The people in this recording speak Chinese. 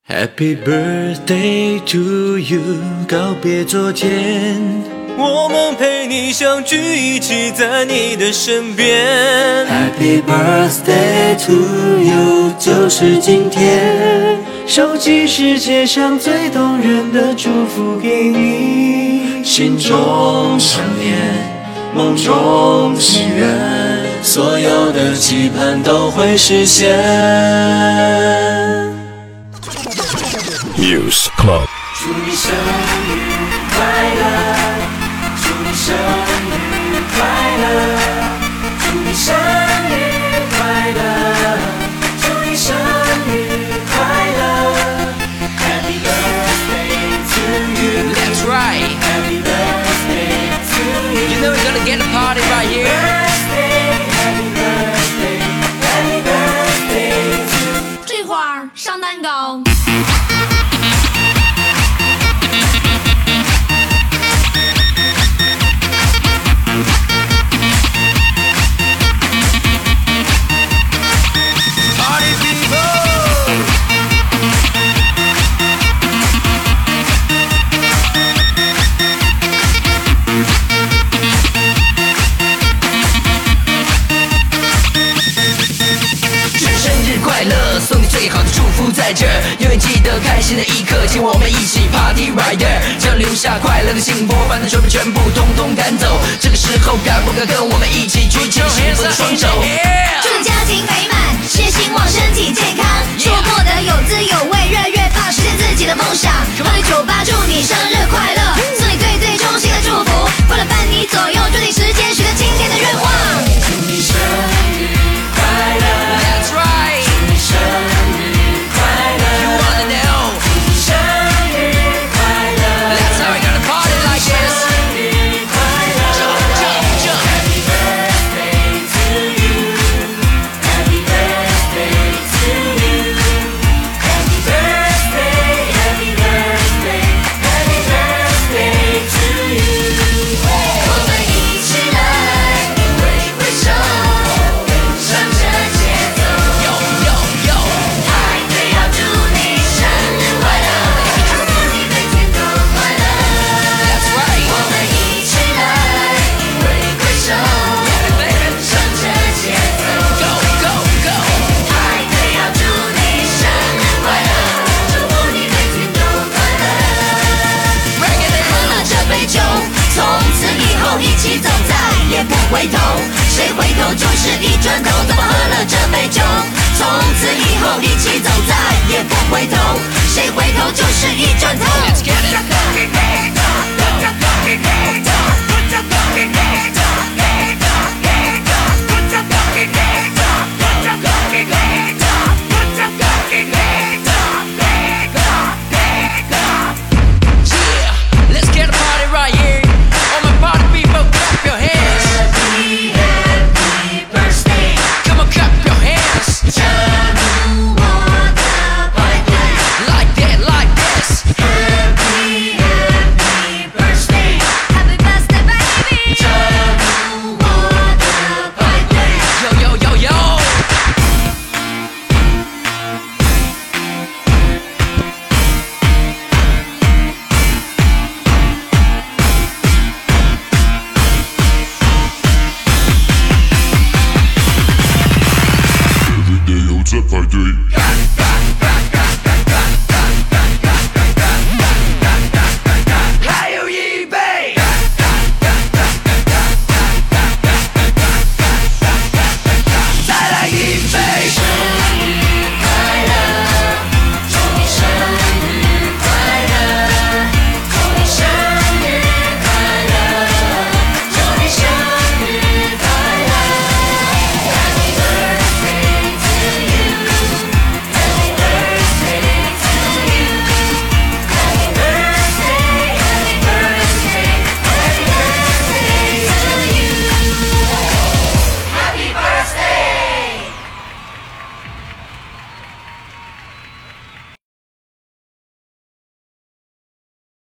Happy birthday to you， 告别昨天，我们陪你相聚，一起在你的身边。Happy birthday to you， 就是今天，收集世界上最动人的祝福给你，心中想念，梦中祈愿，所有的期盼都会实现。 Muse Club， 祝你生日快乐，祝你生日快乐，祝你生日快乐，祝你生日快乐。Happy birthday to you. That's right. Happy birthday to you. You know we're gonna get a party right here. Happy birthday, happy birthday to you. 这会儿上蛋糕。 送你最好的祝福在这儿，永远记得开心的一刻，请我们一起 party right there， 将留下快乐的幸福，把那愁烦全部统统赶走。这个时候敢不敢跟我们一起举起幸福的双手？ 祝你家庭美满，事业兴旺，身体健康，生活过得有滋有味，越来越棒，实现自己的梦想。欢迎酒吧，祝你生日快乐，送你最最衷心的祝福，过了半你左右，抓紧时间许个今天的愿望。 祝你生日快乐 That's right， 祝你生日快乐 You wanna know， 祝你生日快乐 That's how we gonna party like this， 生日快乐 Jump Happy birthday to you Happy birthday to you Happy birthday Happy birthday Happy birthday to you 我们一起来挥挥手跟上这节奏 Yo yo yo， 派对要祝你生日快乐祝福你每天都快乐 That's right， 我们一起来挥挥手跟上这节奏 Go go go， 派对要祝你生日快乐祝福你每天都快乐 Bring it 喝了这杯酒，从此以后一起走，再也不回头。谁回头就是一转头。怎么喝了这杯酒，从此以后一起走，再也不回头。谁回头就是一转头。 Let's get it。